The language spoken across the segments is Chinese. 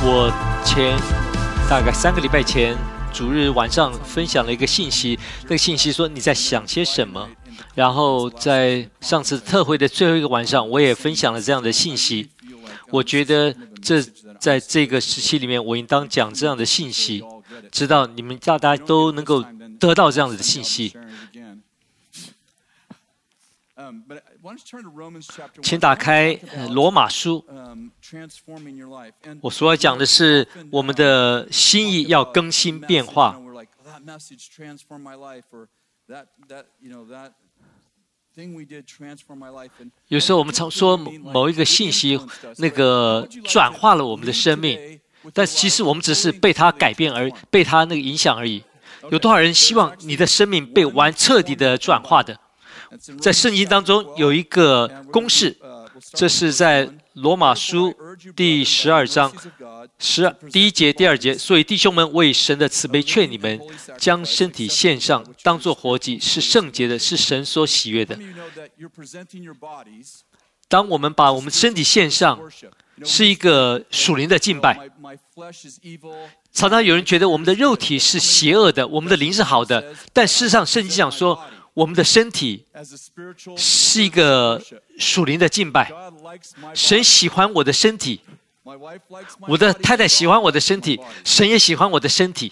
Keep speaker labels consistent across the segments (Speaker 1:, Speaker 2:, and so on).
Speaker 1: 我大概3个礼拜前，主日晚上分享了一个信息，那个信息说你在想些什么。然后在上次特会的最后一个晚上，我也分享了这样的信息。我觉得在这个时期里面，我应当讲这样的信息，直到你们大家都能够得到这样子的信息。请打开罗马书。我所要讲的是我们的心意要更新变化。有时候我们常说某一个信息那个转化了我们的生命，但其实我们只是被它改变被它那个影响而已。有多少人希望你的生命被彻底的转化的？在圣经当中有一个公式，这是在罗马书第12章第1节、第2节。所以弟兄们，我以神的慈悲劝你们，将身体献上，当作活祭，是圣洁的，是神所喜悦的。当我们把我们身体献上，是一个属灵的敬拜。常常有人觉得我们的肉体是邪恶的，我们的灵是好的，但事实上圣经讲说，我们的身体是一个属灵的敬拜。神喜欢我的身体，我的太太喜欢我的身体，神也喜欢我的身体，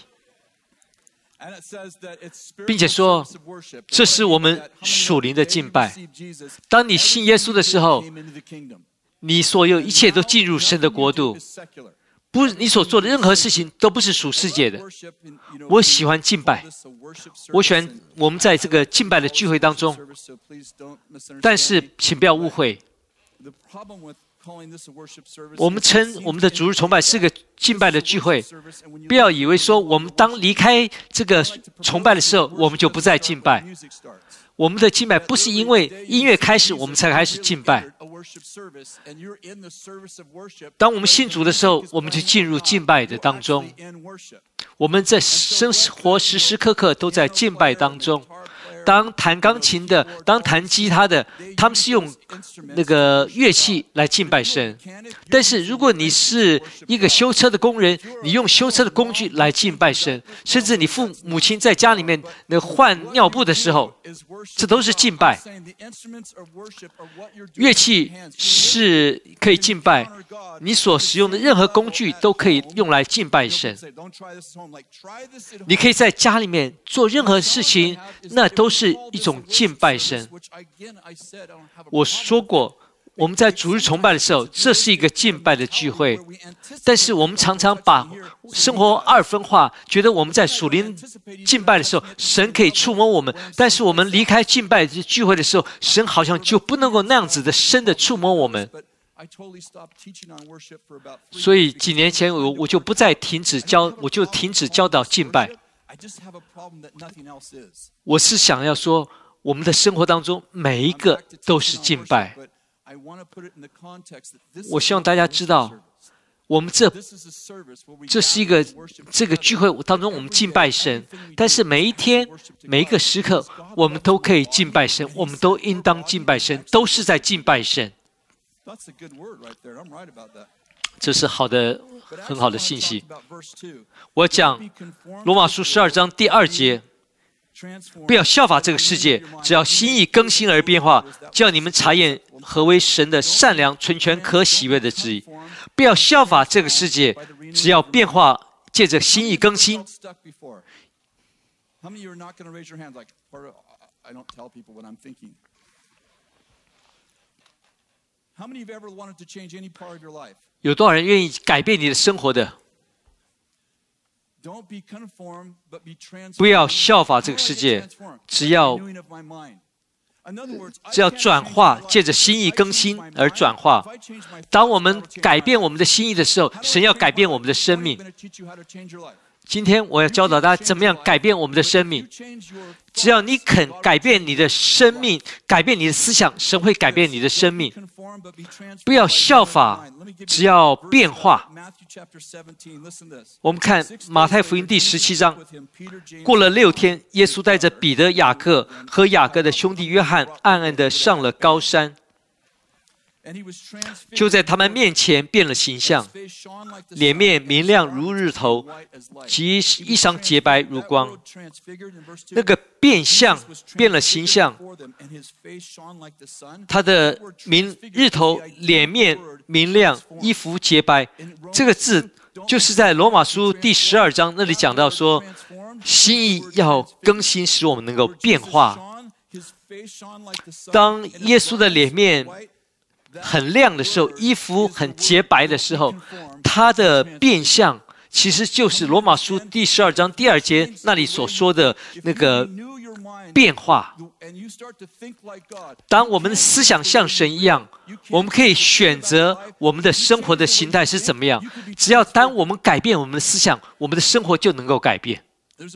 Speaker 1: 并且说这是我们属灵的敬拜。当你信耶稣的时候，你所有一切都进入神的国度，不，你所做的任何事情都不是属世界的。我喜欢敬拜，我喜欢我们在这个敬拜的聚会当中，但是请不要误会，我们称我们的主日崇拜是个敬拜的聚会，不要以为说我们当离开这个崇拜的时候，我们就不再敬拜。我们的敬拜不是因为音乐开始我们才开始敬拜。当我们信主的时候，我们就进入敬拜的当中。我们在生活时时刻刻都在敬拜当中。当弹钢琴的，当弹吉他的，他们是用那个乐器来敬拜神。但是如果你是一个修车的工人，你用修车的工具来敬拜神，甚至你父母亲在家里面换尿布的时候，这都是敬拜。乐器是可以敬拜，你所使用的任何工具都可以用来敬拜神。你可以在家里面做任何事情，那都是一种敬拜神。我说过，我们在主日崇拜的时候，这是一个敬拜的聚会，但是我们常常把生活二分化，觉得我们在属灵敬拜的时候，神可以触摸我们，但是我们离开敬拜聚会的时候，神好像就不能够那样子的深的触摸我们。所以几年前我就不再停止教导敬拜。我是想要说，我们的生活当中每一个都是敬拜。我希望大家知道，我们这是一个这个聚会当中我们敬拜神，但是每一天每一个时刻我们都可以敬拜神，我们都应当敬拜神，都是在敬拜神。这是很好的信息。我讲罗马书12章第2节，不要效法这个世界，只要心意更新而变化，叫你们查验何为神的善良、纯全、可喜悦的旨意。不要效法这个世界，只要变化，借着心意更新。有多少人愿意改变你的生活的？不要效法这个世界，只要转化，借着心意更新而转化。当我们改变我们的心意的时候，神要改变我们的生命。今天我要教导大家怎么样改变我们的生命。只要你肯改变你的生命，改变你的思想，神会改变你的生命。不要效法，只要变化。我们看马太福音第17章，过了6天，耶稣带着彼得、雅各和雅各的兄弟约翰，暗暗地上了高山。 就在他们面前变了形象，脸面明亮如日头，及衣裳洁白如光。那个变相变了形象，他的日头脸面明亮，衣服洁白。这个字就是在罗马书第12章那里讲到说，心意要更新，使我们能够变化。当耶稣的脸面很亮的时候，衣服很洁白的时候，他的变相其实就是罗马书第12章第2节那里所说的那个变化。当我们的思想像神一样，我们可以选择我们的生活的形态是怎么样。只要当我们改变我们的思想，我们的生活就能够改变。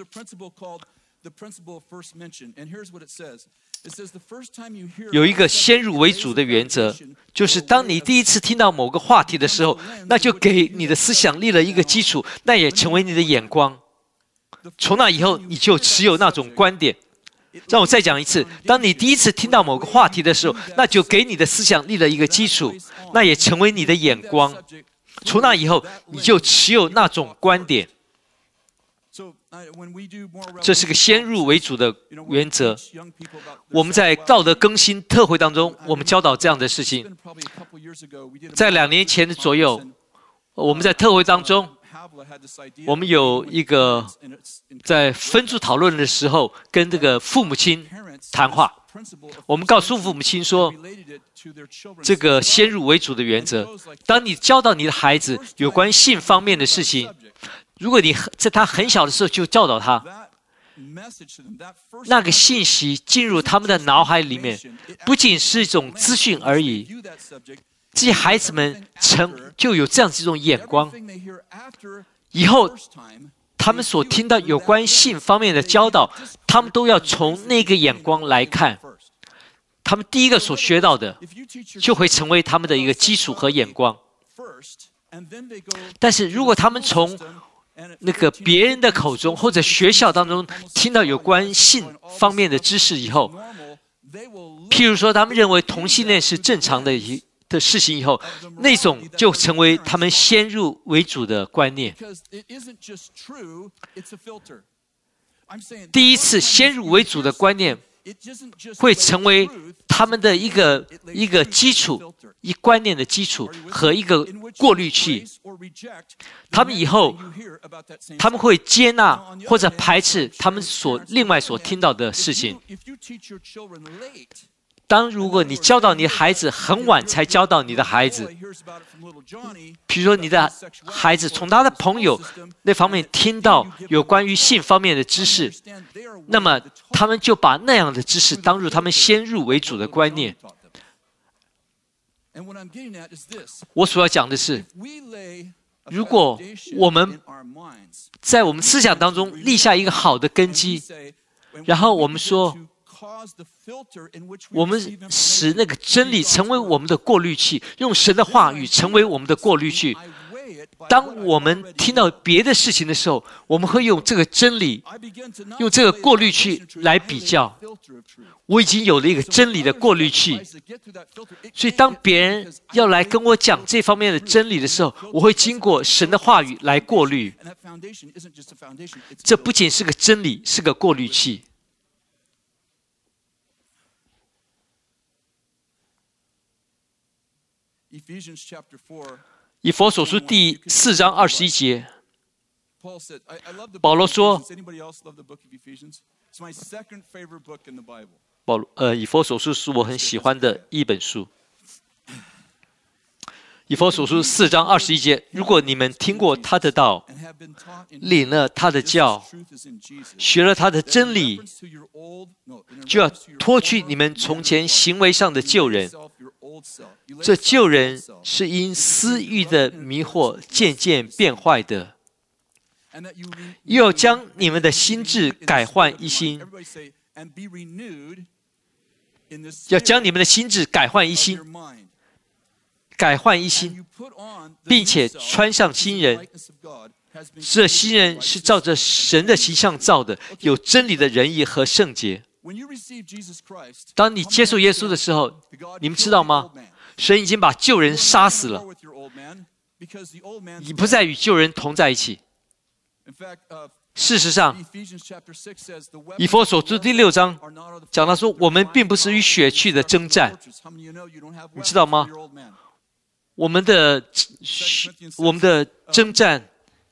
Speaker 1: 有一个先入为主的原则，就是当你第一次听到某个话题的时候，那就给你的思想立了一个基础，那也成为你的眼光。从那以后，你就持有那种观点。让我再讲一次，当你第一次听到某个话题的时候，那就给你的思想立了一个基础，那也成为你的眼光。从那以后，你就持有那种观点。这是个先入为主的原则。我们在道德更新特会当中，我们教导这样的事情。在2年前左右，我们在特会当中，我们有一个在分组讨论的时候，跟这个父母亲谈话。我们告诉父母亲说，这个先入为主的原则，当你教导你的孩子有关性方面的事情，如果你在他很小的时候就教导他，那个信息进入他们的脑海里面，不仅是一种资讯而已，这些孩子们就有这样子一种眼光。以后他们所听到有关性方面的教导，他们都要从那个眼光来看。他们第一个所学到的，就会成为他们的一个基础和眼光。但是如果他们从那个别人的口中或者学校当中听到有关性方面的知识以后，譬如说他们认为同性恋是正常的事情以后，那种就成为他们先入为主的观念。第一次先入为主的观念会成为他们的一个基础，一观念的基础和一个过滤器。他们以后他们会接纳或者排斥他们另外所听到的事情。如果你教导你的孩子很晚才教导你的孩子，比如说你的孩子从他的朋友那方面听到有关于性方面的知识，那么他们就把那样的知识当入他们先入为主的观念。我所要讲的是，如果我们在我们思想当中立下一个好的根基，然后我们说我们使那个真理成为我们的过滤器，用神的话语成为我们的过滤器。当我们听到别的事情的时候，我们会用这个真理，用这个过滤器来比较。我已经有了一个真理的过滤器，所以当别人要来跟我讲这方面的真理的时候，我会经过神的话语来过滤。这不仅是个真理，是个过滤器。以弗所书第4章21节，保罗说，以弗所书是我很喜欢的一本书。以弗所书4章21节，如果你们听过他的道，领了他的教，学了他的真理，就要脱去你们从前行为上的旧人。这旧人是因私欲的迷惑渐渐变坏的，又要将你们的心志改换一新，要将你们的心志改换一新，并且穿上新人。这新人是照着神的形象造的，有真理的仁义和圣洁。当你接受耶稣的时候，你们知道吗？ 神已经把旧人杀死了，你不再与旧人同在一起。事实上，以弗所书第6章讲到说，我们并不是与血气的征战，你知道吗？我们的征战，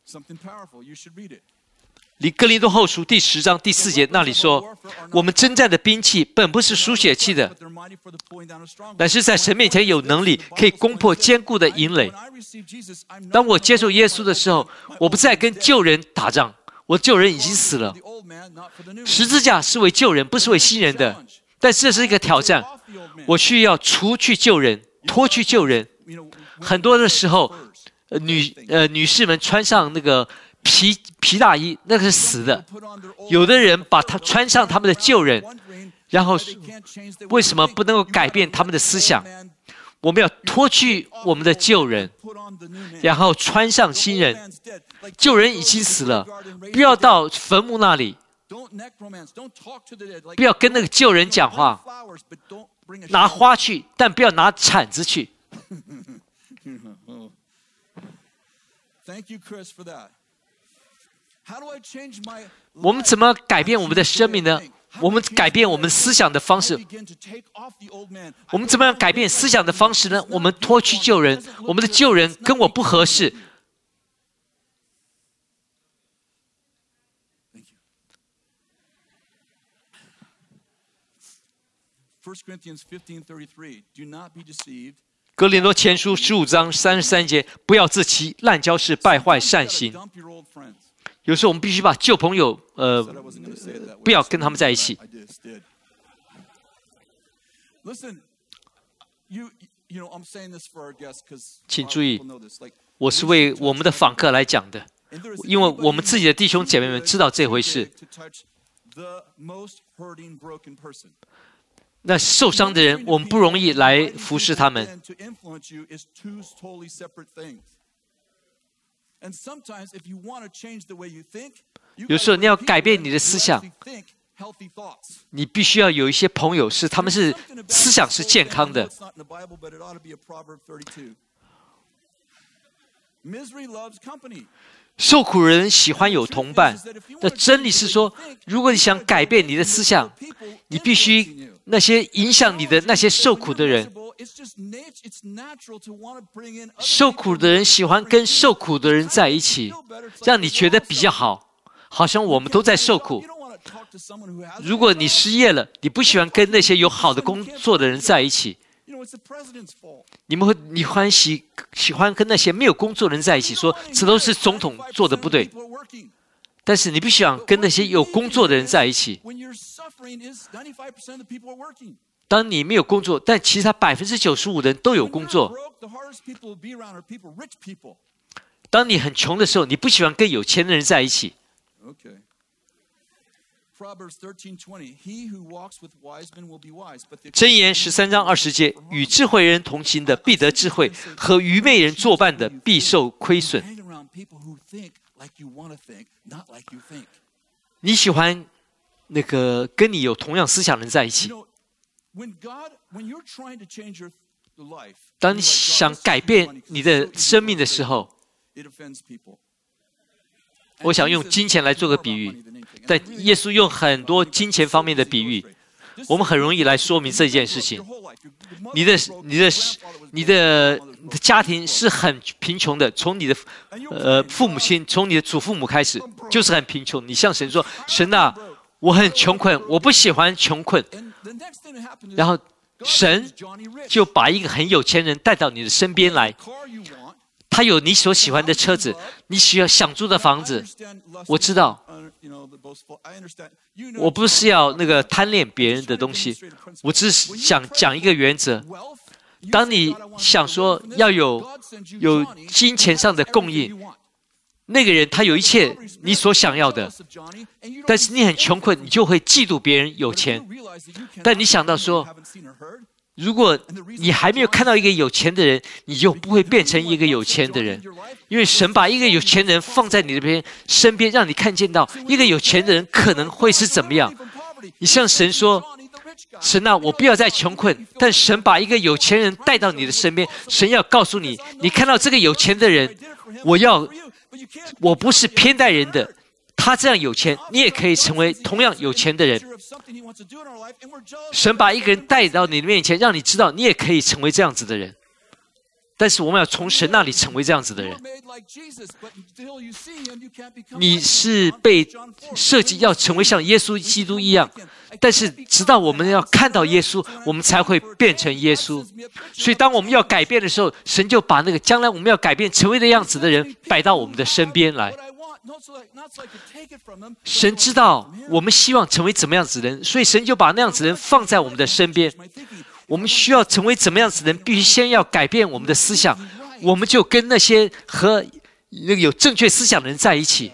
Speaker 1: 哥林多后书第10章第4节那里说，我们征战的兵器本不是属血气的，乃是在神面前有能力，可以攻破坚固的营垒。当我接受耶稣的时候，我不再跟旧人打仗，我旧人已经死了。十字架是为旧人，不是为新人的。但是这是一个挑战，我需要除去旧人，脱去旧人。很多的时候，女士们穿上那个皮大衣，那个是死的。有的人把它穿上他们的旧人，然后为什么不能够改变他们的思想？我们要脱去我们的旧人，然后穿上新人。旧人已经死了，不要到坟墓那里，不要跟那个旧人讲话，拿花去，但不要拿铲子去。我们怎么改变我们的生命呢？我们改变我们思想的方式。我们怎么样改变思想的方式呢？我们脱去旧人，我们的旧人跟我不合适。哥林多前书15章33节，不要自欺，滥交是败坏善行。有时候我们必须把旧朋友，不要跟他们在一起。请注意，我是为我们的访客来讲的，因为我们自己的弟兄姐妹们知道这回事。那受伤的人，我们不容易来服侍他们。有时候你要改变你的思想，你必须要有一些朋友他们是思想是健康的。受苦人喜欢有同伴。那真理是说，如果你想改变你的思想，你必须那些影响你的那些受苦的人。受苦的人喜欢跟受苦的人在一起，让你觉得比较好，好像我们都在受苦。如果你失业了，你不喜欢跟那些有好的工作的人在一起。你喜欢跟那些没有工作的人在一起，说这都是总统做的不对。但是你必须想跟那些有工作的人在一起。当你没有工作，但其他95%的人都有工作。当你很穷的时候，你不喜欢跟有钱的人在一起。箴言13章20节，与智慧人同行的必得智慧，和愚昧人作伴的必受亏损。你喜欢那个跟你有同样思想的人在一起。当你想改变你的生命的时候，我想用金钱来做个比喻，但耶稣用很多金钱方面的比喻，我们很容易来说明这件事情。你的家庭是很贫穷的，从你的父母亲，从你的祖父母开始，就是很贫穷。你向神说：“神啊，我很穷困，我不喜欢穷困。”然后神就把一个很有钱人带到你的身边来。他有你所喜欢的车子，你想住的房子。我知道，我不是要那个贪恋别人的东西，我只是想讲一个原则。当你想说要有金钱上的供应，那个人他有一切你所想要的，但是你很穷困，你就会嫉妒别人有钱。但你想到说，如果你还没有看到一个有钱的人，你就不会变成一个有钱的人，因为神把一个有钱人放在你的身边，让你看见到一个有钱的人可能会是怎么样。你向神说， 神啊，我不要再穷困，但神把一个有钱人带到你的身边，神要告诉你，你看到这个有钱的人，我不是偏待人的，他这样有钱，你也可以成为同样有钱的人。神把一个人带到你的面前，让你知道你也可以成为这样子的人。但是我们要从神那里成为这样子的人。你是被设计要成为像耶稣基督一样，但是直到我们要看到耶稣，我们才会变成耶稣。所以当我们要改变的时候，神就把那个将来我们要改变成为的样子的人摆到我们的身边来。神知道我们希望成为怎么样子的人，所以神就把那样子的人放在我们的身边。我们需要成为怎么样子的人，必须先要改变我们的思想，我们就跟那些和那个有正确思想的人在一起。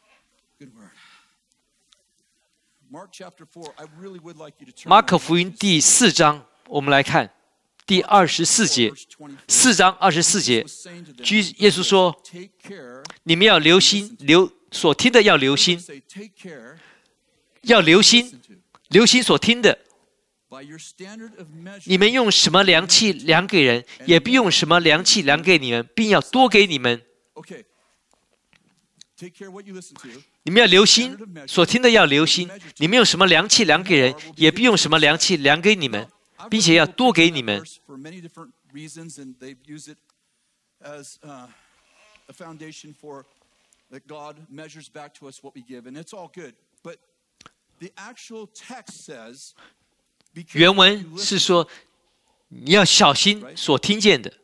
Speaker 1: 马可福音第4章，我们来看第24节，4章24节，耶稣说：“你们要留心，所听的要留心，要留心所听的。你们用什么量器量给人，也不用什么量器量给你们，并要多给你们。你们要留心所听的要留心，你们用什么量器量给人，也不用什么量器量给你们，并且要多给你们。”原文是说，你要小心所听见的，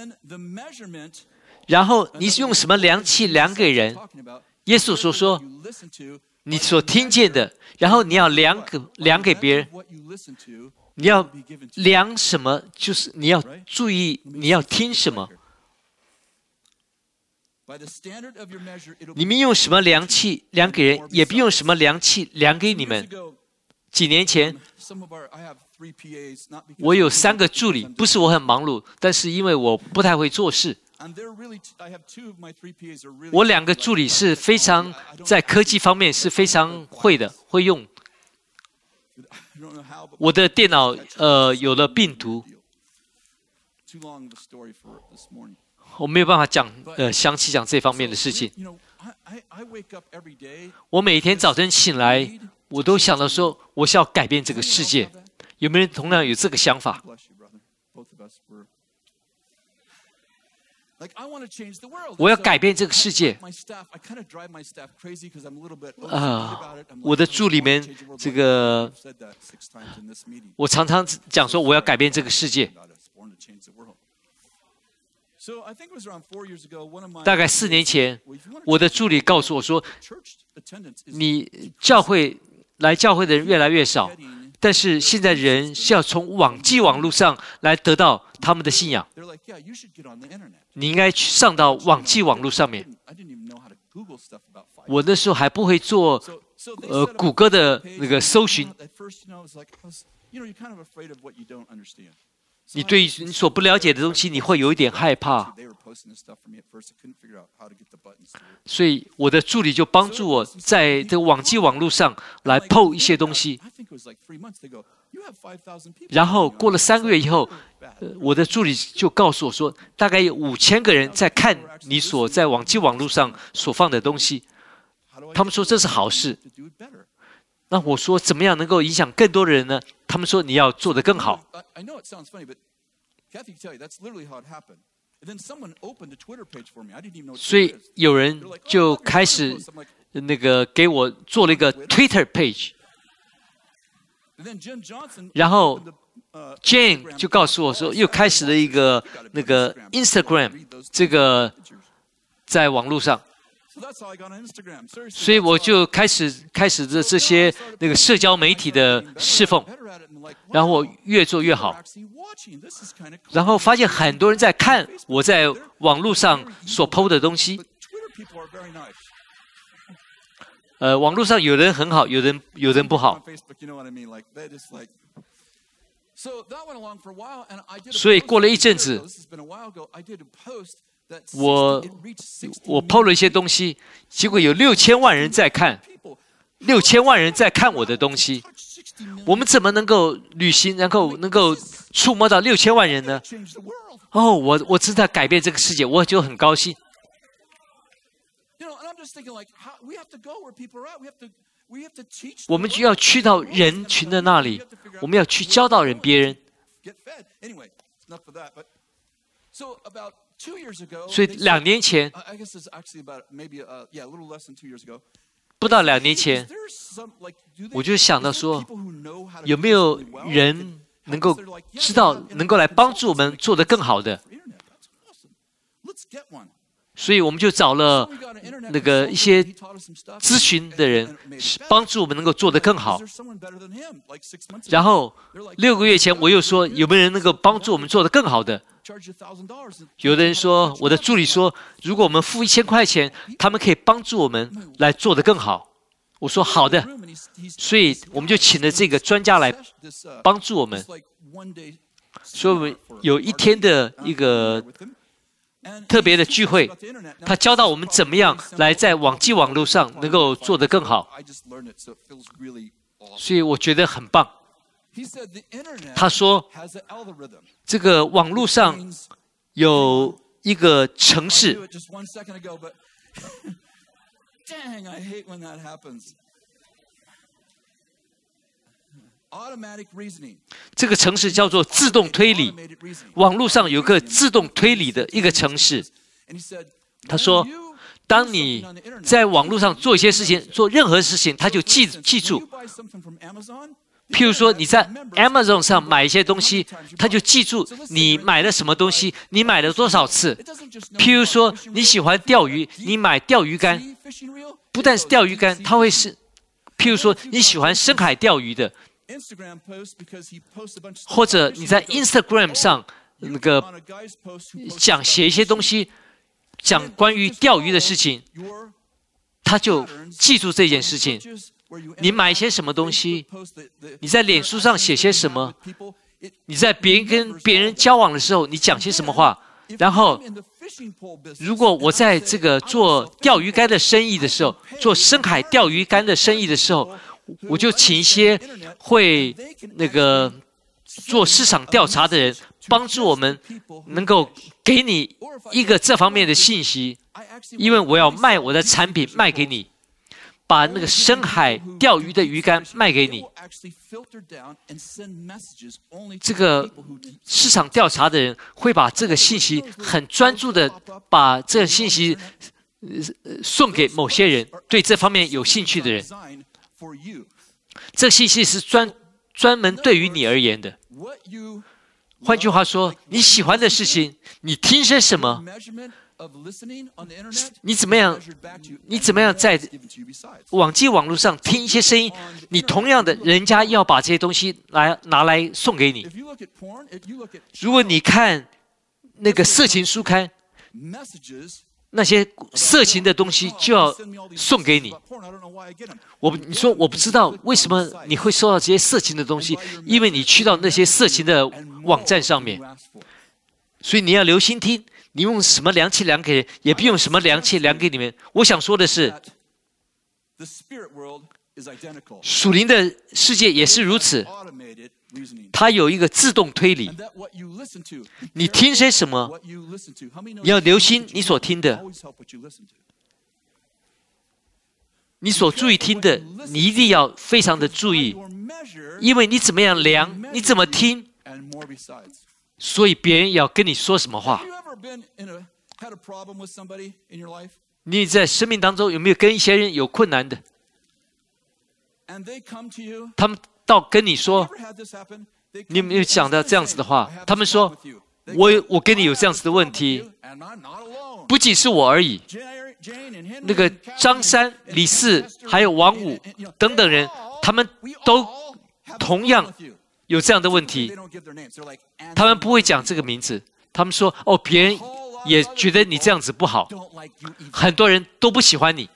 Speaker 1: 然后你是用什么量器量给人？耶稣说你所听见的，然后你要量给别人。你要量什么？就是你要注意你要听什么。你们用什么量器量给人，也不用什么量器量给你们。几年前，我有3个助理，不是我很忙碌，但是因为我不太会做事。我2个助理是非常在科技方面是非常会用。我的电脑有了病毒，我没有办法详细讲这方面的事情。我每天早晨醒来，我都想到说，我是要改变这个世界。有没有人同样有这个想法？我要改变这个世界。我的助理们，我常常讲说，我要改变这个世界。大概4年前，我的助理告诉我说，你来教会的人越来越少，但是现在人是要从网络上来得到他们的信仰。你应该去上到网络上面。我那时候还不会做谷歌的那个搜寻。你对你所不了解的东西，你会有一点害怕。所以我的助理就帮助我在这个网络上来 po 一些东西。然后过了3个月以后，我的助理就告诉我说，大概有5000个人在看你所在网络上所放的东西。他们说这是好事。那我说怎么样能够影响更多的人呢？他们说你要做得更好。所以有人就开始给我做了一个 Twitter page， 然后 Jane 就告诉我说又开始了一个Instagram 这个在网络上。所以我就开始这些社交媒体的侍奉，然后我越做越好，然后发现很多人在看我在网络上所 po 的东西。网络上有人很好，有人不好。所以过了一阵子，我 po 了一些东西，结果有6000万人在看，6000万人在看我的东西。 我们怎么能够旅行，能够触摸到6000万人呢？哦，我知道改变这个世界，我就很高兴。我们就要去到人群的那里，我们要去教导别人。所以2年前，不到2年前，我就想到说，有没有人能够知道，能够来帮助我们做得更好的？所以我们就找了一些咨询的人，帮助我们能够做得更好。然后6个月前，我又说有没有人能够帮助我们做得更好的？有的人说，我的助理说，如果我们付1000块钱，他们可以帮助我们来做得更好。我说好的，所以我们就请了这个专家来帮助我们。所以我们有一天的一个特别的聚会，他教导我们怎么样来在网络上能够做得更好，所以我觉得很棒。他说，这个网络上有一个程式，这个程式叫做自动推理。网络上有个自动推理的一个程式。他说，当你在网络上做一些事情，做任何事情，他就记住。譬如说你在 Amazon 上买一些东西，他就记住你买了什么东西，你买了多少次。譬如说你喜欢钓鱼，你买钓鱼竿，不但是钓鱼竿，它会是，譬如说你喜欢深海钓鱼的，或者你在 Instagram 上写一些东西，讲关于钓鱼的事情，他就记住这件事情。你买一些什么东西，你在脸书上写些什么，你在跟别人交往的时候，你讲些什么话。然后如果我在这个做钓鱼竿的生意的时候，做深海钓鱼竿的生意的时候，我就请一些会做市场调查的人，帮助我们能够给你一个这方面的信息，因为我要卖我的产品卖给你，把那个深海钓鱼的鱼竿卖给你。这个市场调查的人会把这个信息很专注的把这个信息送给某些人，对这方面有兴趣的人。这个信息是专门对于你而言的。换句话说，你喜欢的事情，你听些什么，你怎么样在网络上听一些声音，你同样的，人家要把这些东西拿来送给你。如果你看那个色情书刊，那些色情的东西就要送给你。你说我不知道为什么你会收到这些色情的东西，因为你去到那些色情的网站上面，所以你要留心听。你用什么量器量给人，也不用什么量器量给你们。我想说的是，属灵的世界也是如此，它有一个自动推理。你听些什么，你要留心你所听的，你所注意听的，你一定要非常的注意，因为你怎么样量，你怎么听，所以别人要跟你说什么话。你在生命当中有没有跟一些人有困难的？他们到跟你说，你有没有讲到这样子的话？他们说，我跟你有这样子的问题，不仅是我而已。那个张三、李四还有王五等等人，他们都同样有这样的问题。他们不会讲这个名字，他们说别人也觉得你这样子不好，很多人都不喜欢你。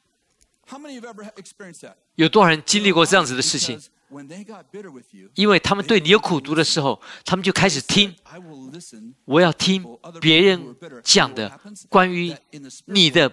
Speaker 1: 有多少人经历过这样子的事情？因为他们对你有苦毒的时候，他们就开始听。我要听别人讲的关于你的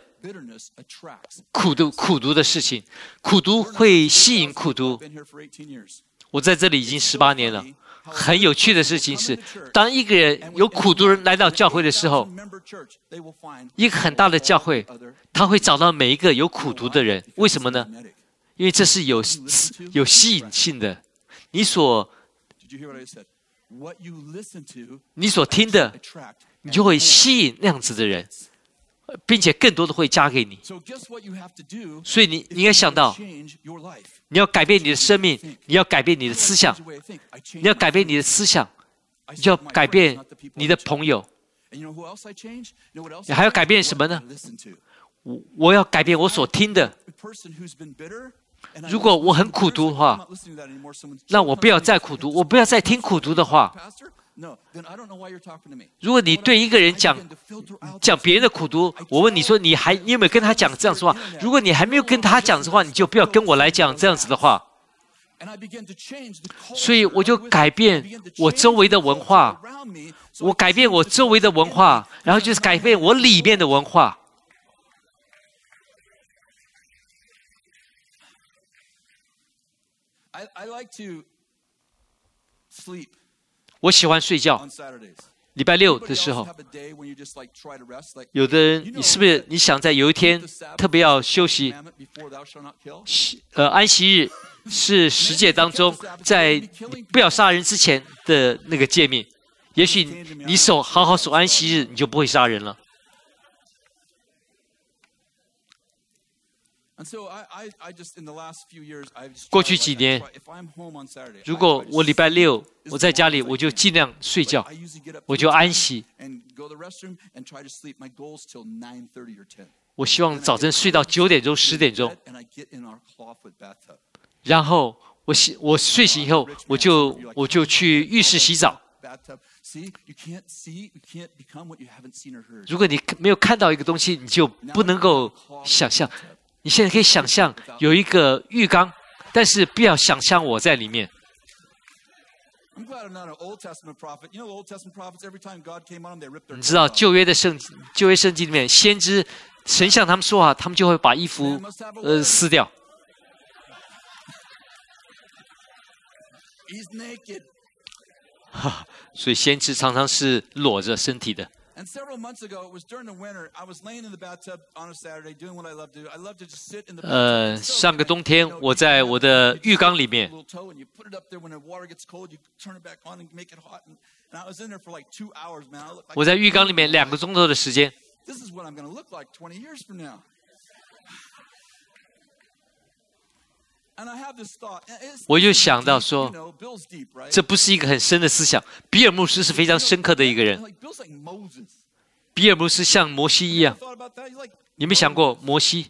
Speaker 1: 苦毒的事情。苦毒会吸引苦毒。 我在这里已经18年了。很有趣的事情是，当一个人有苦毒人来到教会的时候，一个很大的教会，他会找到每一个有苦毒的人。为什么呢？因为这是有吸引性的。你所听的，你就会吸引那样子的人，并且更多的会加给你。所以你应该想到，你要改变你的生命，你要改变你的思想，你要改变你的思想，你就要改变你的朋友。你还要改变什么呢？我要改变我所听的。如果我很苦毒的话，那我不要再苦毒，我不要再听苦毒的话。如果你对一个人讲别人的苦毒，我问你说你有没有跟他讲这样子的话？如果你还没有跟他讲的话，你就不要跟我来讲这样子的话。所以我就改变我周围的文化，我改变我周围的文化，然后就是改变我里面的文化。我喜欢睡觉。礼拜六的时候，有的人，你是不是你想在有一天特别要休息？安息日是10诫当中，在不要杀人之前的那个诫命。也许你好好守安息日，你就不会杀人了。过去几年，如果我礼拜六我在家里，我就尽量睡觉，我就安息。我希望早晨睡到9点钟、10点钟，然后我睡醒以后，我就去浴室洗澡。如果你没有看到一个东西，你就不能够想象。你现在可以想象有一个浴缸，但是不要想象我在里面。你知道旧约圣经里面，先知神向他们说话，他们就会把衣服撕掉。所以先知常常是裸着身体的。上个冬天我在我的浴缸里面，我在浴缸里面2个钟头的时间。我就想到说，这不是一个很深的思想。比尔牧师是非常深刻的一个人。比尔牧师像摩西一样，你有没有想过摩西？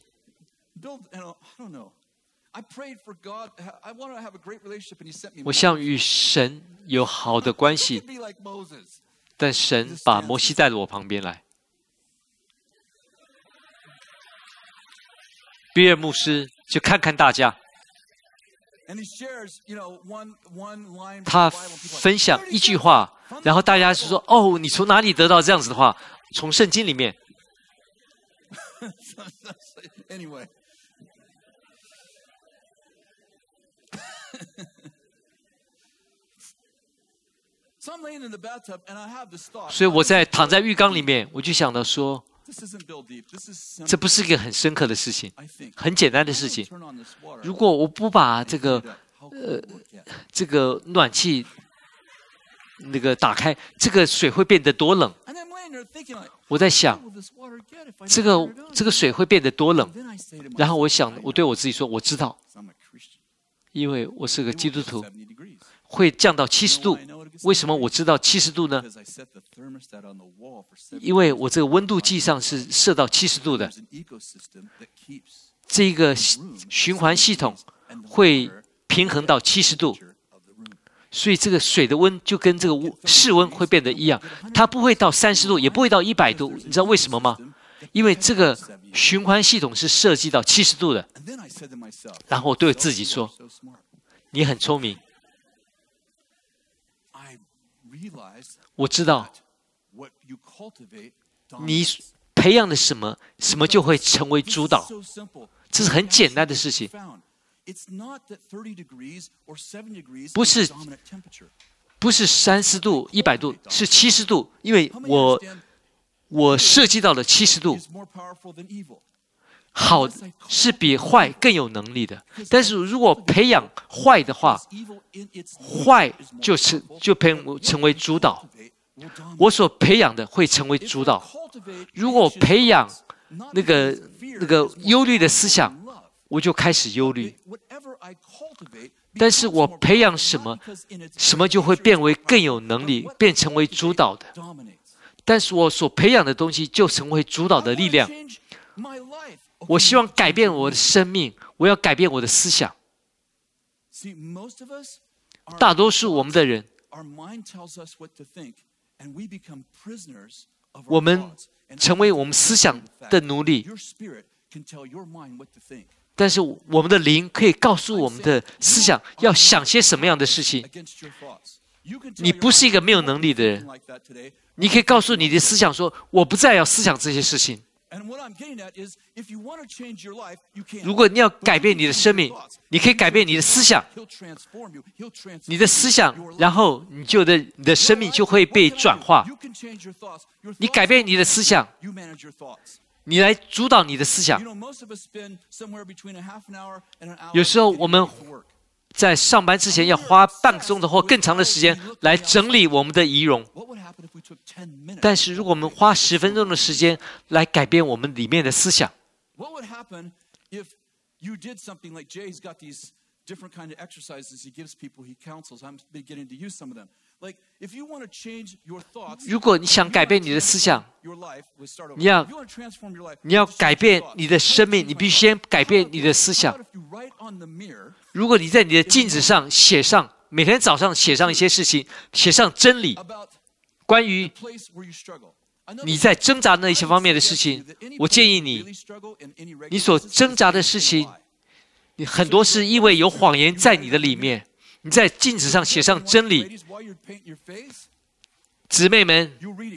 Speaker 1: 我想与神有好的关系，但神把摩西带到我旁边来。比尔牧师就看看大家。他分享一句话，然后大家就说：“哦，你从哪里得到这样子的话？从圣经里面。”所以我躺在浴缸里面，我就想到说，这不是一个很深刻的事情，很简单的事情。如果我不把这个暖气打开，这个水会变得多冷。我在想，这个水会变得多冷。然后我对我自己说，我知道，因为我是个基督徒，会降到70度。为什么我知道70度呢？因为我这个温度计上是设到70度的。这个循环系统会平衡到70度，所以这个水的温就跟这个室温会变得一样，它不会到30度，也不会到100度。你知道为什么吗？因为这个循环系统是设计到70度的。然后我对自己说：“你很聪明。”我知道，你培养的什么就会成为主导。这是很简单的事情。 不是30度、100度，是70度，因为我设计到了70度。好是比坏更有能力的，但是如果培养坏的话，坏就成为主导。我所培养的会成为主导。如果培养那个忧虑的思想，我就开始忧虑。但是我培养什么，什么就会变为更有能力，变成为主导的。但是我所培养的东西就成为主导的力量。我希望改变我的生命，我要改变我的思想。大多数我们的人，我们成为我们思想的奴隶。但是我们的灵可以告诉我们的思想要想些什么样的事情。你不是一个没有能力的人，你可以告诉你的思想说：“我不再要思想这些事情。”如果你要改变你的生命，你可以改变你的思想，你的思想，然后你的生命就会被转化。你改变你的思想，你来主导你的思想。有时候我们在上班之前要花半个钟头或更长的时间来整理我们的仪容。但是如果我们花10分钟的时间来改变我们里面的思想，如果你想改变你的思想，你要改变你的生命，你必须先改变你的思想。如果你在你的镜子上写上，每天早上写上一些事情，写上真理，关于你在挣扎那一些方面的事情，我建议你所挣扎的事情，你很多是因为有谎言在你的里面。你在镜子上写上真理，姊妹们，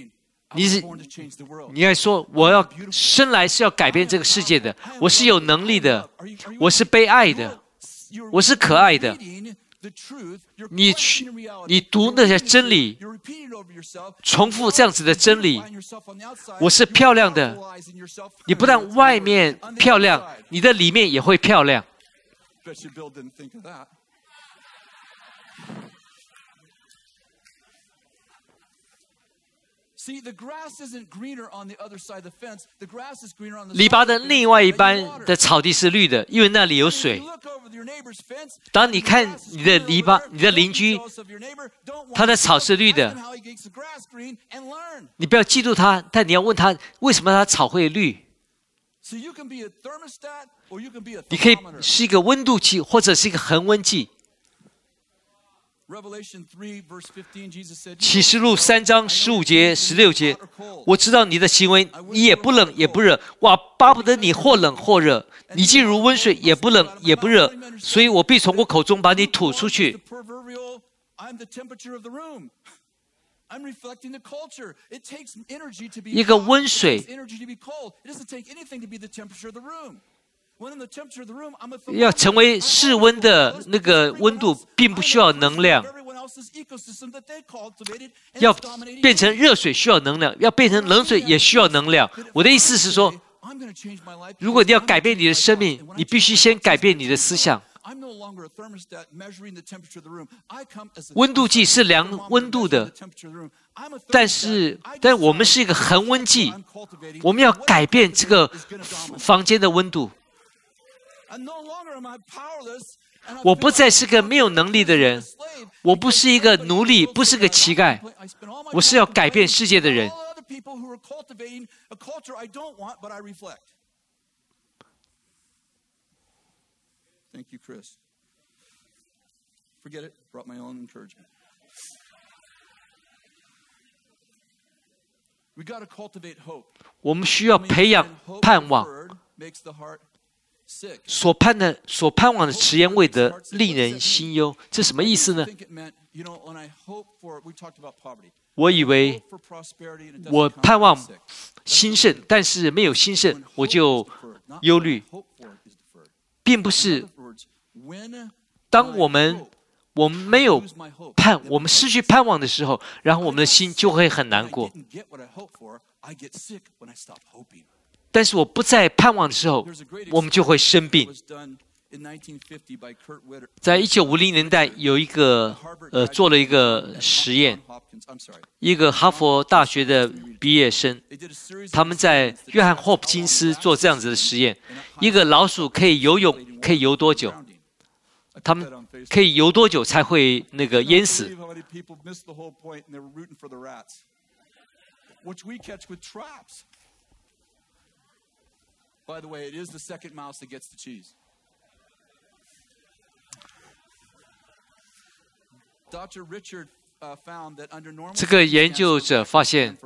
Speaker 1: 你该说，我要生来是要改变这个世界的，我是有能力的，我是被爱的，我是可爱的。你读那些真理，重复这样子的真理，我是漂亮的。你不但外面漂亮，你的里面也会漂亮。篱笆的另外一半的草地是绿的，因为那里有水。当你看你的篱笆，你的邻居，他的草是绿的，你不要嫉妒他，但你要问他为什么他草会绿。你可以是一个温度计，或者是一个恒温计。启示录3章15节、16节，我知道你的行为，你也不冷也不热，我巴不得你或冷或热，你既如温水，也不冷也不热，所以我必从我口中把你吐出去。一个温水要成为室温的那个温度，并不需要能量。要变成热水需要能量，要变成冷水也需要能量。我的意思是说，如果你要改变你的生命，你必须先改变你的思想。温度计是量温度的，但我们是一个恒温计，我们要改变这个房间的温度。我不再是个没有能力的人，我不是一个奴隶，不是个乞丐，我是要改变世界的人。Thank you, Chris. Forget it. Brought my own encouragement. We got to cultivate hope. 我们需要培养盼望。所盼望的迟延未得，令人心忧。这什么意思呢？我以为我盼望兴盛，但是没有兴盛，我就忧虑。并不是当我们没有我们失去盼望的时候，然后我们的心就会很难过。但是我不再盼望的时候，我们就会生病。在1950年代，有一个做了一个实验，一个哈佛大学的毕业生，他们在约翰霍普金斯做这样子的实验：一个老鼠可以游泳，可以游多久？他们可以游多久才会那个淹死？By the way, it is the second mouse that gets the cheese. Dr. Richard found that under normal 这个研究者发现，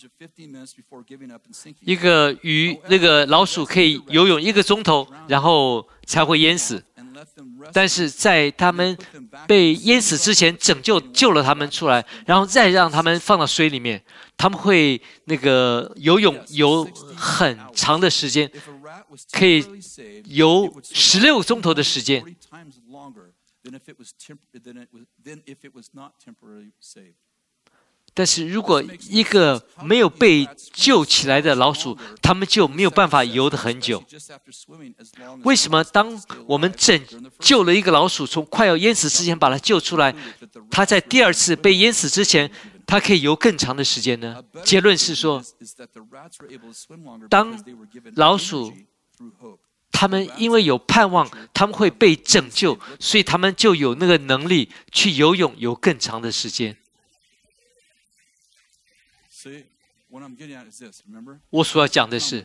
Speaker 1: 一个鱼那个老鼠可以游泳1个钟头，然后才会淹死。但是在他们被淹死之前，救了他们出来，然后再让他们放到水里面，他们会那个游很长的时间，可以游16个钟头的时间。但是如果一个没有被救起来的老鼠，他们就没有办法游得很久。为什么当我们拯救了一个老鼠，从快要淹死之前把它救出来，它在第2次被淹死之前，它可以游更长的时间呢？结论是说，当老鼠他们因为有盼望，他们会被拯救，所以他们就有那个能力去游泳，游更长的时间。我所要讲的是，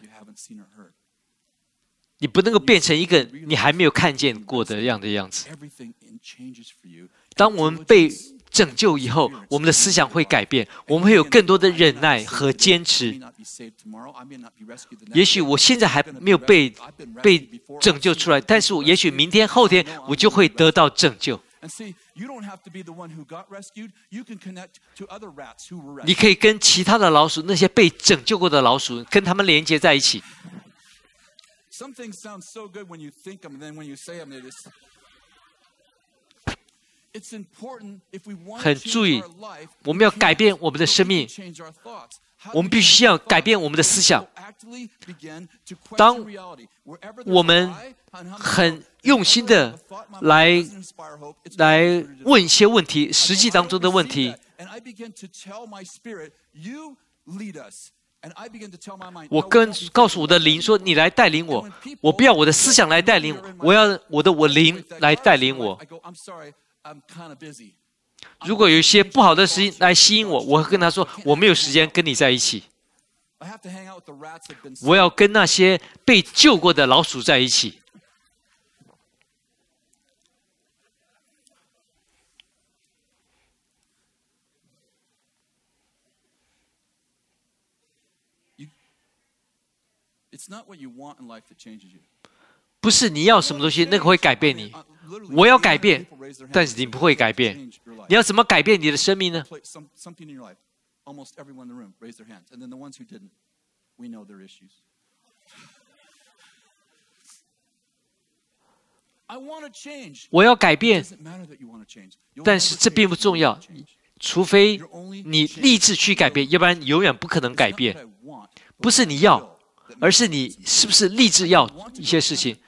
Speaker 1: 你不能够变成一个你还没有看见过的样子。当我们被拯救以后，我们的思想会改变，我们会有更多的忍耐和坚持。也许我现在还没有被拯救出来，但是也许明天、后天我就会得到拯救。你可以跟其他的老鼠，那些被拯救过的老鼠，跟他们连接在一起。很注意，我们要改变我们的生命，我们必须要改变我们的思想。当我们很用心的来问一些问题，实际当中的问题，我告诉我的灵说：“你来带领我，我不要我的思想来带领我，我要我灵来带领我。”如果有一些不好的事情来吸引我，我会跟他说：“我没有时间跟你在一起。”我要跟那些被救过的老鼠在一起。不是你要什么东西，那个会改变你。我要改变，但是你不会改变。你要怎么改变你的生命呢？我要改变，但是这并不重要，除非你立志去改变，要不然你永远不可能改变。不是你要，而是你是不是立志要一些事情。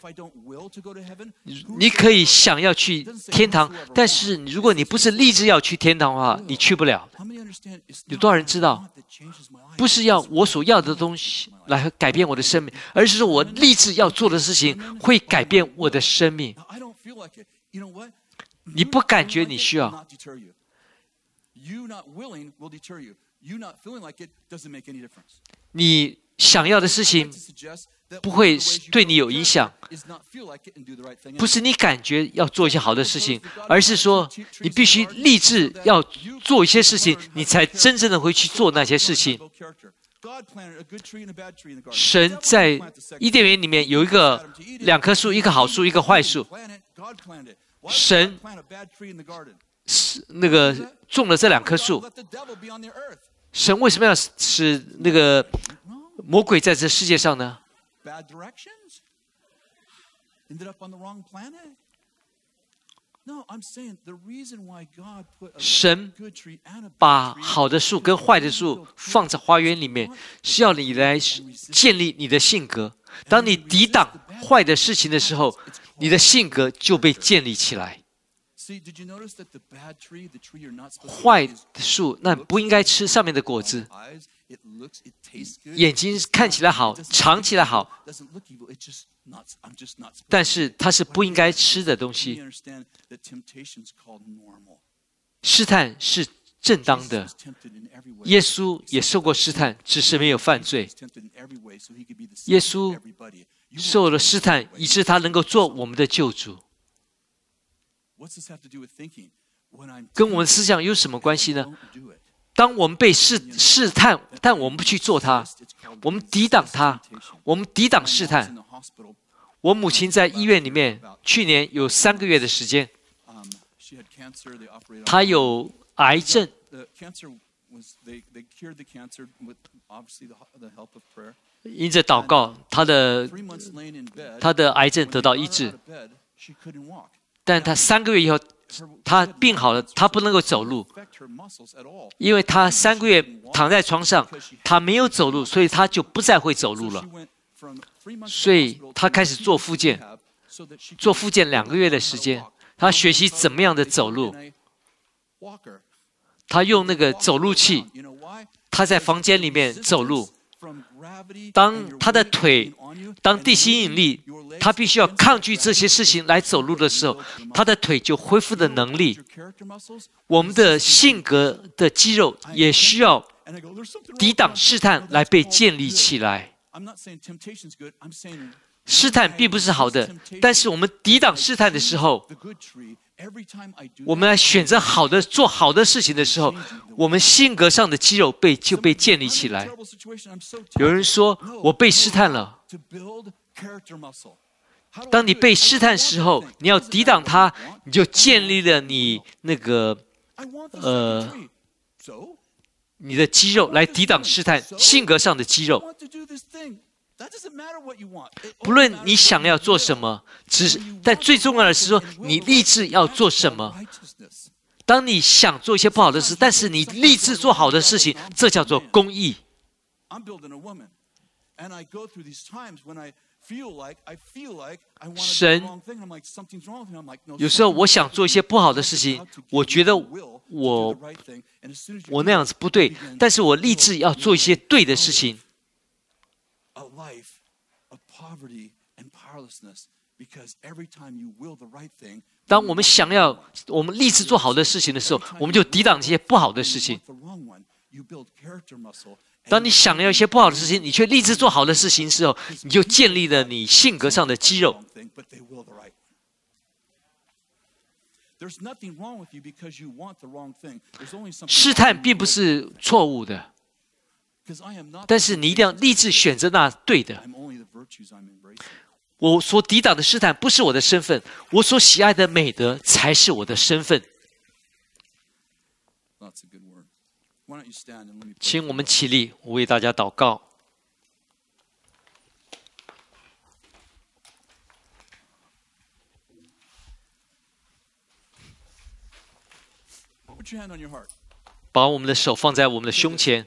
Speaker 1: 你可以想要去天堂，但是如果你不是立志要去天堂的话，你去不了。有多少人知道？不是要我所要的东西来改变我的生命，而是说我立志要做的事情会改变我的生命。你不感觉你需要？你想要的事情不会对你有影响，不是你感觉要做一些好的事情，而是说你必须立志要做一些事情，你才真正的会去做那些事情。神在伊甸园里面有2棵树，一棵好树，一棵坏树。神那个种了这2棵树。神为什么要使那个魔鬼在这世界上呢？ 神把好的树跟坏的树放在花园里面，是要你来建立你的性格。当你抵挡坏的事情的时候，你的性格就被建立起来。坏的树，那不应该吃上面的果子。眼睛看起来好，尝起来好，但是它是不应该吃的东西。试探是正当的，耶稣也受过试探，只是没有犯罪。耶稣受了试探，以致他能够做我们的救主。跟我们思想有什么关系呢？当我们被试探，但我们不去做它，我们抵挡它，我们抵挡试探。我母亲在医院里面，去年有3个月的时间，她有癌症，因着祷告，她的癌症得到医治。但她3个月以后，她病好了，她不能够走路，因为她3个月躺在床上，她没有走路，所以她就不再会走路了。所以她开始做复健，做复健2个月的时间，她学习怎么样的走路。她用那个走路器，她在房间里面走路。当她的腿，当地心引力，她必须要抗拒这些事情来走路的时候，她的腿就恢复的能力。我们的性格的肌肉也需要抵挡试探来被建立起来。试探并不是好的，但是我们抵挡试探的时候，我们来选择好的、做好的事情的时候，我们性格上的肌肉就被建立起来。有人说我被试探了，当你被试探的时候，你要抵挡它，你就建立了你那个你的肌肉来抵挡试探，性格上的肌肉。不论你想要做什么，但最重要的是说，你立志要做什么。当你想做一些不好的事，但是你立志做好的事情，这叫做公义。神有时候我想做一些不好的事情，我觉得我那样子不对，但是我立志要做一些对的事情。当我们立志做好的事情的时候，我们就抵挡这些不好的事情。当你想要一些不好的事情，你却立志做好的事情的时候，你就建立了你性格上的肌肉。试探并不是错误的，但是你一定要立志选择那对的。我所抵挡的试探不是我的身份，我所喜爱的美德才是我的身份。请我们起立，我为大家祷告。把我们的手放在我们的胸前，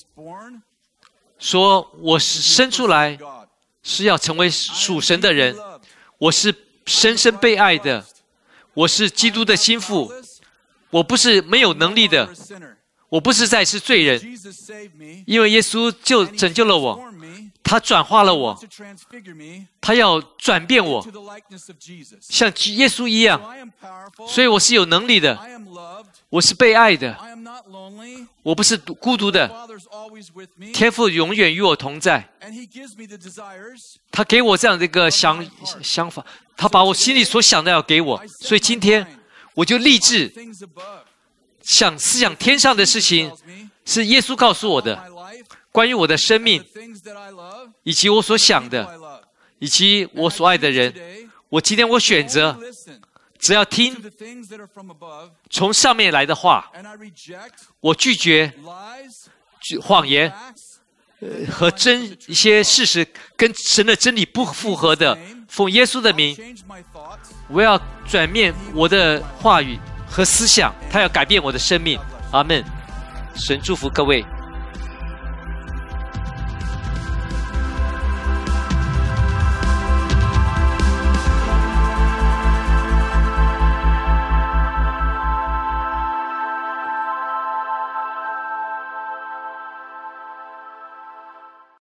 Speaker 1: 说我是生出来是要成为属神的人，我是深深被爱的，我是基督的心腹，我不是没有能力的，我不是再是罪人，因为耶稣就拯救了我，他转化了我，他要转变我，像耶稣一样，所以我是有能力的，我是被爱的，我不是孤独的，天父永远与我同在，他给我这样的一个想法，他把我心里所想的要给我，所以今天我就立志想思想天上的事情，是耶稣告诉我的，关于我的生命，以及我所想的，以及我所爱的人。我今天我选择，只要听从上面来的话，我拒绝谎言， 和一些事实跟神的真理不符合的，奉耶稣的名，我要转变我的话语和思想，他要改变我的生命。阿们。神祝福各位。